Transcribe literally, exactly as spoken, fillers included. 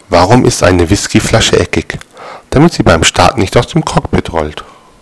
Warum ist eine Whiskyflasche eckig? Damit sie beim Start nicht aus dem Cockpit rollt.